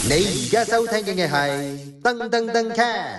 你而家收聽嘅係噔噔噔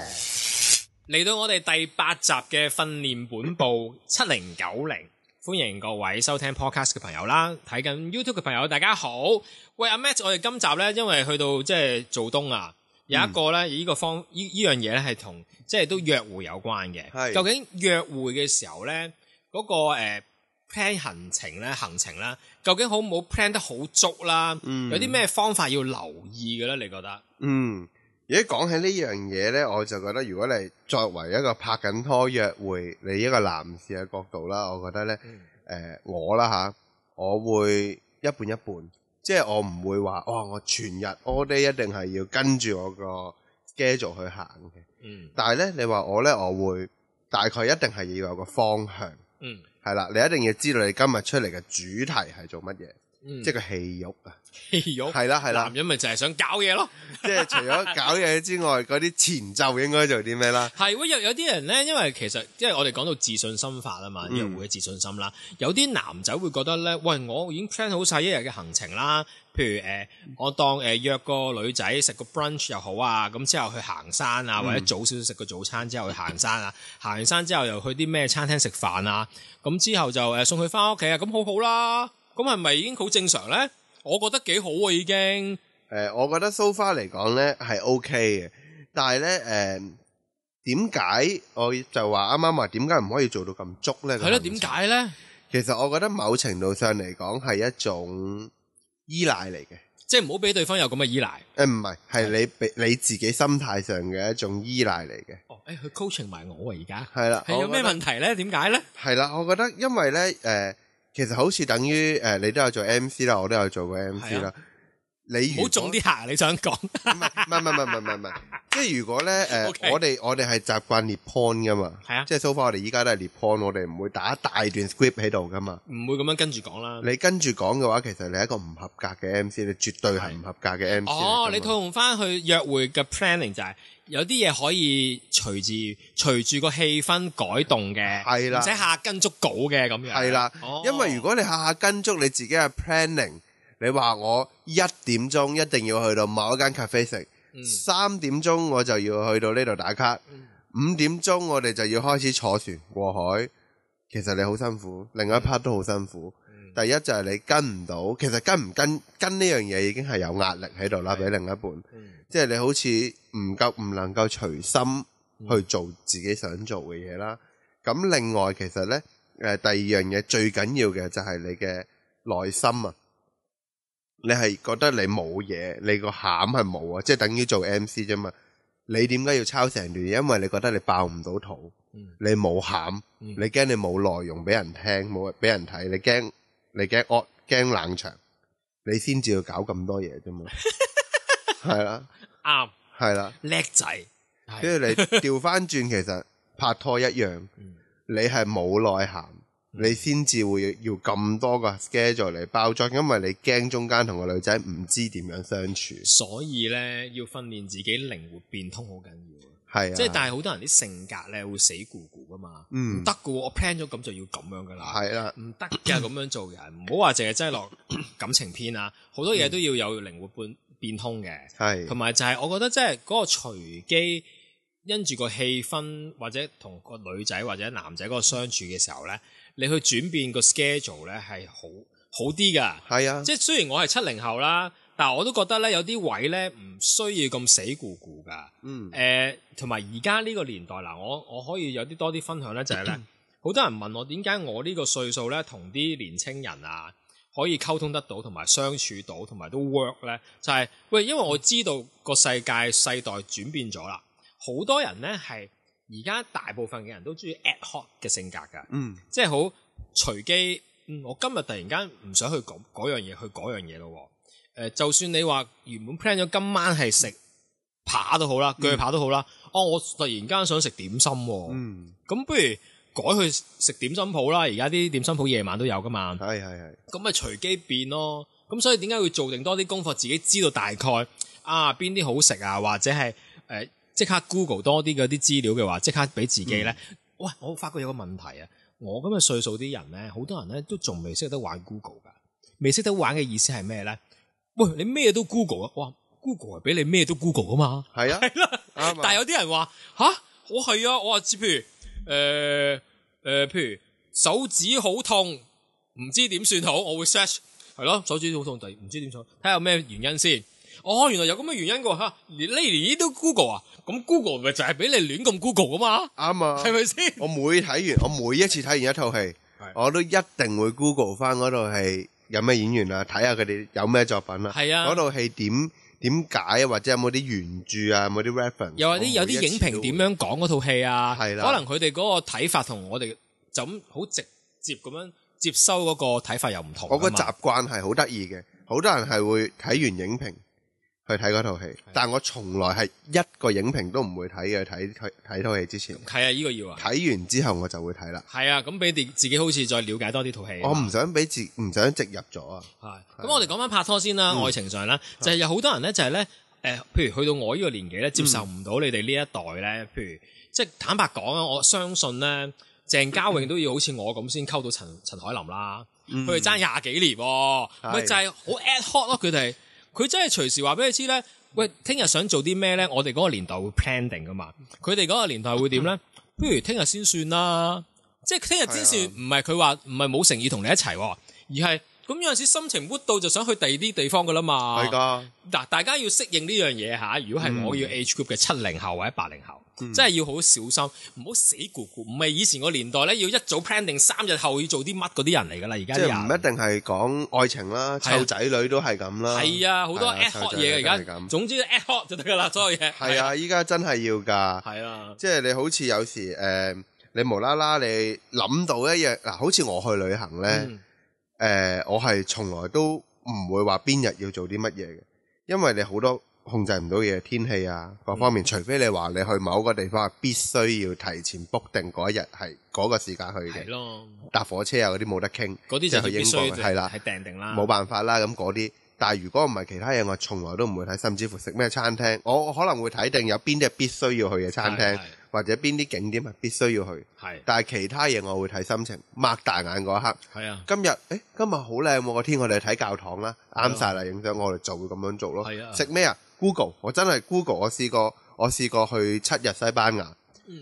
cast， 嚟到我哋第8集嘅訓練本部7090，歡迎各位收聽 podcast 嘅朋友啦，睇緊 YouTube 嘅朋友大家好。喂，阿 Matt， 我哋今集呢，因為去到即係做冬啊，有一個呢，呢樣嘢呢係同即係都約會有關嘅。究竟約會嘅時候呢，嗰個plan 行程啦，究竟好唔好 plan 得好足啦？有啲咩方法要留意嘅咧？你覺得？ 如果講起呢樣嘢呢，我就覺得如果你作為一個拍緊拖約會，你一個男士嘅角度啦，我覺得呢，我啦吓，我會一半一半，即係我唔會話哇，我全日 all day 一定係要跟住我個 schedule 去行嘅。但係呢，你話我呢，我會大概一定係要有個方向。係啦，你一定要知道你今日出嚟嘅主題係做乜嘢，即係個戲肉啊！ 戲肉係啦， 男人咪就係想搞嘢咯， 即係除咗搞嘢之外，嗰啲前奏應該做啲咩啦？ 係喎，有啲人咧，因為其實即係我哋講到自信心法啊嘛，約會嘅自信心啦。有啲男仔會覺得咧，喂，我已經 plan 好晒一日嘅行程啦。譬如我當約個女仔食個 brunch 又好啊，咁之後去行山啊，或者早少少食個早餐之後去行山啊，行完山之後又去啲咩餐廳食飯啊，咁之後就送佢翻屋企啊，咁好好啦。咁係咪已經好正常咧？我覺得幾好啊，已經。 我覺得 so far 嚟講咧係 OK 嘅，但係咧點解我就話啱啱話點解唔可以做到咁足咧？ 係咯，點解咧？ 其實我覺得某程度上嚟講係一種依賴嚟嘅，即係唔好俾對方有咁嘅依賴。 唔係，係你自己心態上嘅一種依賴嚟嘅。 佢 coaching 埋我而家。係啦， 係有咩問題咧？點解咧？ 係啦，我覺得因為咧其實好似等於你都有做 MC 啦，我都有做過 MC 啦。你唔好中啲客，你想講？ 唔係，即係如果咧我哋係習慣列 point 噶嘛，係啊，即係 so far 我哋依家都係列 point，我哋唔會打一大段 script 喺度噶嘛， 唔會咁樣跟住講啦。 你跟住講嘅話，其實你係一個唔合格嘅 MC，你絕對係唔合格嘅 MC。 你套用翻去約會嘅 planning 就係有啲嘢可以隨住個氣氛改動嘅，係啦，唔使下下跟足稿嘅咁樣。 係啦，因為如果你下下跟足你自己嘅 planning，你話我1點鐘一定要去到某一間 cafe 食，3點鐘我就要去到呢度打卡，5點鐘我哋就要開始坐船過海。其實你好辛苦，另一 part 都好辛苦。第一就係你跟唔到，其實跟唔跟呢樣嘢已經係有壓力喺度啦，俾另一半。即係你好似唔能夠隨心去做自己想做嘅嘢啦。咁另外其實呢，第二樣嘢最緊要嘅就係你嘅內心啊。你係覺得你冇嘢，你個餡係冇啊，即係等於做 MC 啫嘛。你點解要抄成段嘢？因為你覺得你爆唔到肚，你冇餡，你驚你冇內容俾人聽，冇俾人睇，你驚冷場，你先至要搞咁多嘢啫嘛。係啦， 啱， 係啦， 叻仔。 跟住你調翻轉，其實拍拖一樣，你係冇內涵。你先至會要咁多個 schedule 嚟包裝，因為你驚中間同個女仔唔知點樣相處，所以咧要訓練自己靈活變通好緊要。 係啊， 即係但係好多人啲性格咧會死咕咕噶嘛，唔得噶，我 plan 咗咁就要咁樣噶啦，係啦，唔得㗎咁樣做人，唔好話淨係擠落感情篇啊，好多嘢都要有靈活變通嘅，係，同埋就係我覺得即係嗰個隨機因住個氣氛或者同個女仔或者男仔嗰個相處嘅時候咧。你去轉變個 schedule 咧係好啲噶，係啊，即係雖然我係70後啦，但係我都覺得咧有啲位咧唔需要咁死咕咕噶，同埋而家呢個年代嗱，我可以有啲多啲分享咧，就係咧，好多人問我點解我呢個歲數咧同啲年青人啊可以溝通得到，同埋相處到，同埋都 work 咧，就係喂，因為我知道個世界世代轉變咗啦，好多人咧係。而家大部分嘅人都中意 ad hoc 嘅性格㗎，即係好隨機。我今日突然間唔想去嗰樣嘢，去嗰樣嘢咯。就算你話原本 plan 咗今晚係食扒都好啦，鋸扒都好啦。我突然間想食點心，咁不如改去食點心鋪啦。而家啲點心鋪夜晚都有㗎嘛。係。咁咪隨機變咯。咁所以點解要做定多啲功課，自己知道大概邊啲好食啊，或者係即刻 Google 多啲嗰啲資料嘅話，即刻俾自己咧。喂，我發覺有個問題啊！我咁嘅歲數啲人咧，好多人咧都仲未識得玩 Google 噶。未識得玩嘅意思係咩咧？喂，你咩都 Google 啊！哇， Google 係俾你咩都 Google 噶嘛。 係啊， 係啦。但係有啲人話我係啊，我話知譬如譬如手指好痛，唔知點算好，我會 search 係咯，手指好痛，唔知點算，睇下有咩原因先。原來有咁嘅原因㗎吓，連呢都 Google 啊，咁 Google 咪就係俾你亂咁 Google 噶嘛。啱啊，係咪先？我每一次睇完一套戲，我都一定會 Google 翻嗰套戲有咩演員啊，睇下佢哋有咩作品啊。係啊，嗰套戲點解或者有冇啲原著啊，有冇啲 reference， 又或者有啲影評點樣講嗰套戲啊？係啦，可能佢哋嗰個睇法同我哋就咁好直接咁樣接收嗰個睇法又唔同。 我個習慣係好得意嘅，好多人係會睇完影評去睇嗰套戲，但我從來係一個影評都唔會睇嘅。睇套戲之前係啊，呢個要啊。 睇完之後我就會睇啦。係啊，咁俾自己好似再了解多啲套戲。 我唔想植入咗啊。 係咁，我哋講翻拍拖先啦。愛情上啦，就係有好多人咧，就係咧譬如去到我呢個年紀咧，接受唔到你哋呢一代咧。譬如即係坦白講啊，我相信咧，鄭嘉穎都要好似我咁先溝到陳海琳啦。佢哋爭20幾年，咪就係好 ad hoc 咯。佢真係隨時話俾你知咧，喂，聽日想做啲咩咧？我哋嗰個年代會 plan 定噶嘛。佢哋嗰個年代會點咧？不如聽日先算啦。即係聽日先算，唔係佢話唔係冇誠意同你一齊，而係咁有陣時心情活到就想去第二啲地方噶啦嘛。係噶。嗱，大家要適應呢樣嘢吓。如果係我要 age group 嘅70後或者80後，真係要好小心，唔好死咕咕。唔係以前個年代咧，要一早 plan 定3日後要做啲乜嗰啲人嚟噶啦。而家即係唔一定係講愛情啦，湊仔女都係咁啦。係啊，好多 ad hoc 嘢而家。總之 ad hoc 就得噶啦，所有嘢。 係啊，依家真係要噶。係啊，即係你好似有時你無啦啦你諗到一樣嗱，好似我去旅行咧，我係從來都唔會話邊日要做啲乜嘢嘅，因為你好多控制唔到嘢，天氣啊各方面，除非你話你去某個地方係必須要提前 book 定嗰一日係嗰個時間去嘅，係咯，搭火車啊嗰啲冇得傾，嗰啲就去英國係啦，係訂定啦，冇辦法啦，咁嗰啲。但係如果唔係其他嘢，我從來都唔會睇，甚至乎食咩餐廳，我可能會睇定有邊啲係必須要去嘅餐廳，或者邊啲景點係必須要去。係，但係其他嘢我會睇心情，擘大眼嗰一刻。係啊，今日好靚喎個天，我哋去睇教堂啦，啱晒啦，影相，我哋就會咁樣做咯。係啊，食咩啊 ？Google， 我真係 Google，我試過去7日西班牙，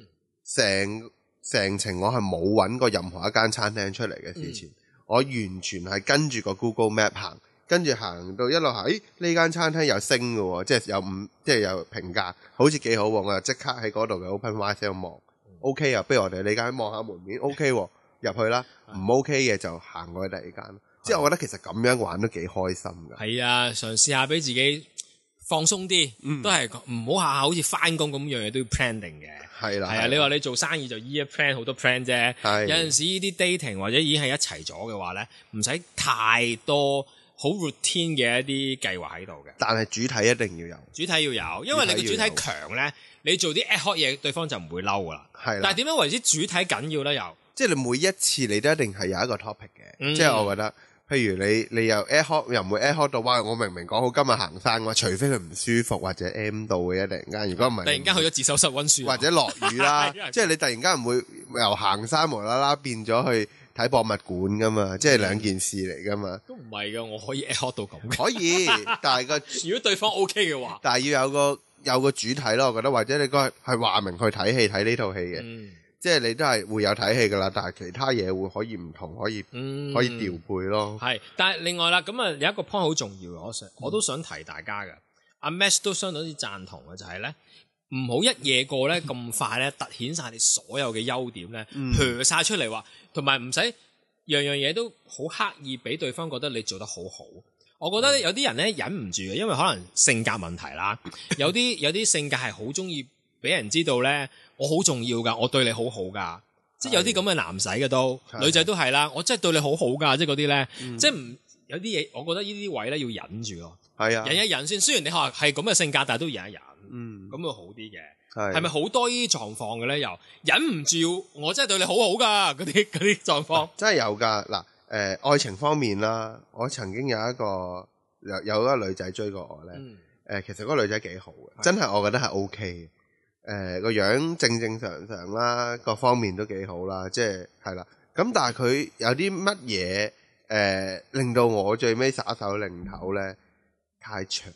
成程我係冇揾過任何一間餐廳出嚟嘅事前，我完全係跟住個 Google Map 行。跟住行到一路行，呢間餐廳有星嘅喎，即係有評價，好似幾好喎。我就即刻喺嗰度嘅 OpenRice 度望，OK 啊，不如我哋呢間望下門面 ，OK 喎，入去啦。唔 OK 嘅就行過去第二間。即係我覺得其實咁樣玩都幾開心㗎。係啊，嘗試下俾自己放鬆啲，都係唔好下下好似返工咁樣嘢都要 plan 定嘅。係啦，係啊，你話你做生意就依一 plan 好多 plan 啫。有陣時呢啲 dating 或者已經係一齊咗嘅話咧，唔使太多好 routine 嘅一啲計劃喺度嘅，但係主體一定要有，主體要有，因為你個主體強咧，你做啲 ad hoc 嘢，對方就唔會嬲噶啦。係，但係點樣為之主體緊要咧？又即係你每一次你都一定係有一個 topic 嘅，即係我覺得，譬如你又 ad hoc 又唔會 ad hoc 到，哇！我明明講好今日行山嘅話，除非佢唔舒服或者 M 到嘅，突然間，如果唔係突然間去咗自修室溫書，或者落雨啦，即係你突然間唔會由行山無啦啦變咗去睇博物館噶嘛，即係兩件事嚟噶嘛。都唔係噶，我可以 ad hoc 到咁。可以，但係如果對方 OK 嘅話，但係要有個主體咯，我覺得，或者你嗰日係話明去睇戲睇呢套戲嘅，即係你都係會有睇戲噶啦，但係其他嘢會可以唔同，可以調配咯。係，但係另外啦，咁啊有一個 point 好重要嘅，我都想提大家嘅。阿 Max 都相當之贊同嘅，就係咧，唔好一夜過咧咁快咧，突顯晒你所有嘅優點咧，撇晒出嚟話，同埋唔使樣樣嘢都好刻意俾對方覺得你做得好好。我覺得有啲人咧忍唔住嘅，因為可能性格問題啦，有啲性格係好中意俾人知道咧，我好重要噶，我對你好好噶，即係有啲咁嘅男仔嘅都，女仔都係啦，我真係對你好好噶，即係嗰啲咧，即係唔有啲嘢，我覺得呢啲位咧要忍住咯。係啊，忍一忍先。雖然你話係咁嘅性格，但係都忍一忍，咁會好啲嘅。係咪好多呢啲狀況嘅咧？又忍唔住，我真係對你好好噶，嗰啲狀況真係有噶。嗱，愛情方面啦，我曾經有一個女仔追過我咧，其實嗰個女仔幾好嘅，真係我覺得係 OK 嘅。個樣正正常常啦，各方面都幾好啦，即係啦。咁但係佢有啲乜嘢令到我最尾耍手擰頭咧？太扯，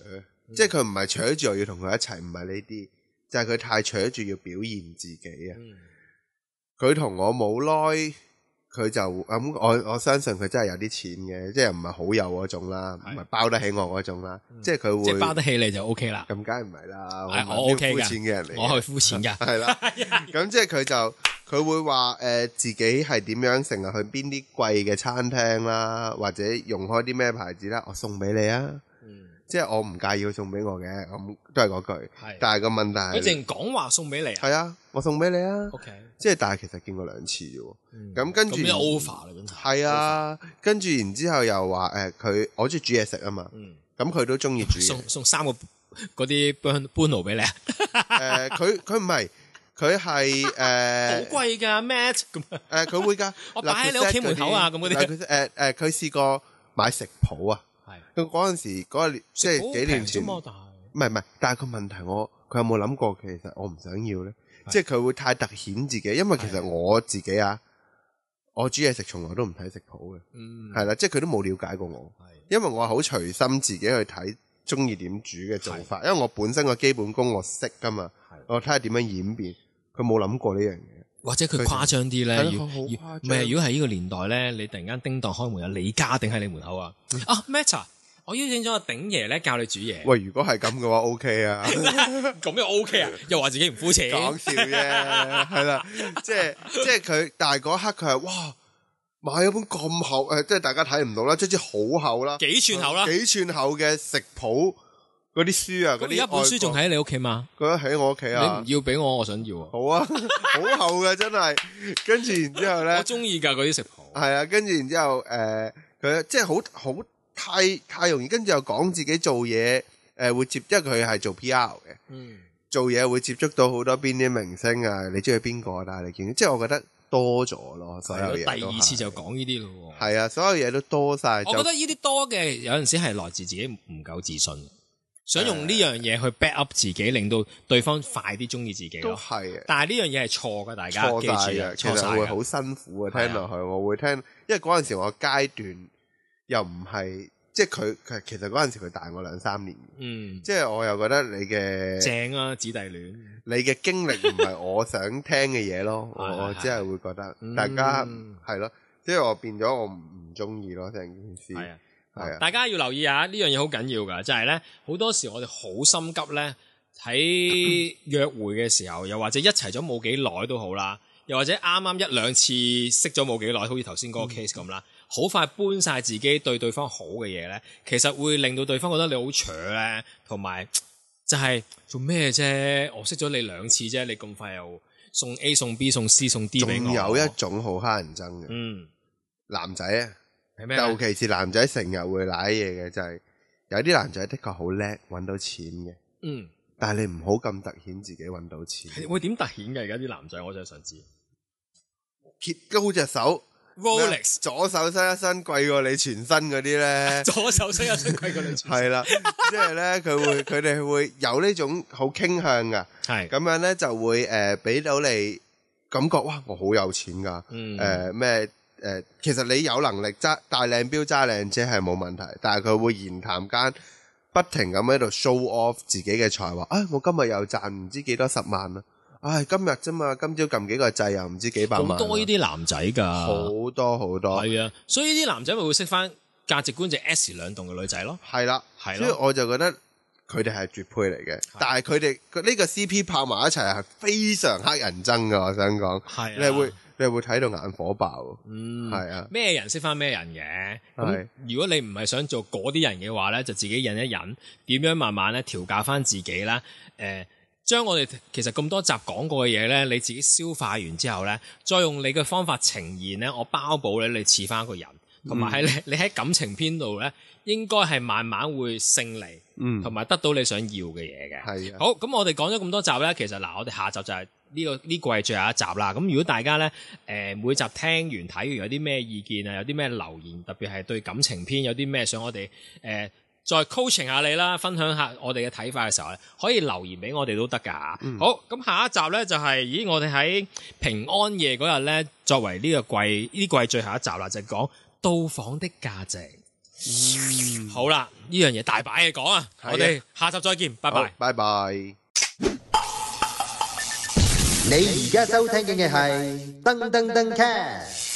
即係佢唔係扯住我要同佢一齊，唔係呢啲，就係佢太扯住要表現自己啊。佢同我冇耐。佢就咁，我相信佢真係有啲錢嘅，即係唔係好有嗰種啦，唔係包得起我嗰種啦，即係佢會即係包得起你就 OK 啦。 咁梗係唔係啦， 我 OK 嘅， 膚淺嘅人嚟， 我係膚淺㗎。 係啦，咁即係佢會話自己係點樣成日去邊啲貴嘅餐廳啦，或者用開啲咩牌子啦，我送俾你啊。即係我唔介意佢送俾我嘅，咁都係嗰句。但係個問題係， 佢淨講話送俾你。係啊，我送俾你啊。 OK。即係但係其實見過2次啫喎。咁跟住。咁 over 啦，真係。 係啊，跟住然之後又話我中意煮嘢食啊嘛。咁佢都中意煮嘢。 送3個嗰啲搬爐俾你啊。 佢唔係，佢係好貴㗎 Matt 咁。 佢會㗎。 我擺喺你屋企門口啊，咁嗰啲。 佢試過買食譜啊。佢嗰陣時即係幾年前，唔係，但係個問題佢有冇諗過其實我唔想要咧？即係佢會太突顯自己，因為其實我自己我煮嘢食從來都唔睇食譜嘅，係啦，即係佢都冇了解過我，因為我係好隨心自己去睇，中意點煮嘅做法，因為我本身個基本功我識噶嘛，我睇下點樣演變，佢冇諗過呢樣嘢。 或者佢誇張啲咧，唔係如果係呢個年代咧，你突然間叮當開門有李家頂喺你門口啊，Matt，我邀請咗個鼎爺咧教你煮嘢。喂， 如果係咁嘅話 ，OK 啊。 咁又 OK 啊？又話自己唔膚淺。 講笑啫，係啦，即係佢，但係嗰一刻佢係哇，買咗本咁厚，即係大家睇唔到啦，即係好厚啦， 幾寸厚啦， 幾寸厚嘅食譜嗰啲書啊，嗰啲。 而家本書仲喺你屋企嘛？ 佢喺我屋企啊。 你唔要俾我，我想要啊。 好啊，好厚嘅真係。跟住然之後咧， 我中意㗎嗰啲食譜。 係啊，跟住然之後佢即係好。太容易，跟住又講自己做嘢，會接，因為佢係做 PR 嘅，做嘢會接觸到好多邊啲明星啊，你中意邊個？但係你見，即係我覺得多咗咯，所有嘢。 第二次就講呢啲咯。 係啊，所有嘢都多晒。 我覺得呢啲多嘅有陣時係來自自己唔夠自信，想用呢樣嘢去 back up 自己，令到對方快啲中意自己咯。 都係， 但係呢樣嘢係錯㗎，大家記住啊， 其實會好辛苦啊，聽落去我會聽，因為嗰陣時我階段。又唔係，即係佢其實嗰陣時佢大我2-3年，即係我又覺得你嘅正啊，姊弟戀， 你嘅經歷唔係我想聽嘅嘢咯，我只係會覺得大家係咯，即係我變咗我唔中意咯成件事，係啊， 大家要留意下呢樣嘢好緊要噶，就係咧好多時我哋好心急咧喺約會嘅時候，又或者一齊咗冇幾耐都好啦，又或者啱啱1-2次識咗冇幾耐，好似頭先嗰個 case 咁啦。好快搬晒自己對方好嘅嘢咧，其實會令到對方覺得你好扯咧，同埋就係做咩啫？我識咗你2次啫，你咁快又送 A 送 B 送 C 送 D 俾我。 仲有一種好乞人憎嘅，男仔啊，係咩？尤其是男仔成日會舐嘢嘅，就係有啲男仔的確好叻，搵到錢嘅，但係你唔好咁突顯自己搵到錢。 會點突顯嘅？而家啲男仔，我真係想知。 揭高隻手。 Rolex 左手伸一伸貴過你全身嗰啲咧， 左手伸一伸貴過你全身係啦，即係咧佢哋會有呢種好傾向噶，係咁樣咧就會俾到你感覺哇我好有錢噶，其實你有能力揸大靚錶揸靚車係冇問題，但係佢會言談間不停咁喺度 show off 自己嘅才華，我今日又賺唔知幾多10萬啦。今日啫嘛，今朝撳幾個掣又唔知幾百萬。好多呢啲男仔㗎， 好多好多。係啊，所以呢啲男仔咪會識翻價值觀就 S 兩棟嘅女仔咯。 係啦，係咯。所以我就覺得佢哋係絕配嚟嘅，但係佢哋呢個 CP 拍埋一齊係非常乞人憎㗎。我想講，係你係會睇到眼火爆。係啊。咩人識翻咩人嘅？咁如果你唔係想做嗰啲人嘅話咧，就自己忍一忍，點樣慢慢咧調教翻自己啦。將我哋其實咁多集講過嘅嘢咧，你自己消化完之後咧，再用你嘅方法呈現咧，我包保咧你似翻一個人，同埋喺你喺感情篇度咧，應該係慢慢會勝利，同埋得到你想要嘅嘢嘅。係啊。好，咁我哋講咗咁多集咧，其實嗱，我哋下集就係呢季最後一集啦。咁如果大家咧每集聽完睇完有啲咩意見啊，有啲咩留言，特別係對感情篇有啲咩想我哋再 coaching 下你啦，分享下我哋嘅睇法嘅時候咧，可以留言俾我哋都得噶。好，咁下一集咧就係，我哋喺平安夜嗰日咧，作為呢季最後一集啦，就係講到訪的價值。 好啦，呢樣嘢大把嘢講啊，我哋下集再見，拜拜， 拜拜。 你而家收聽嘅係噔噔噔 cast。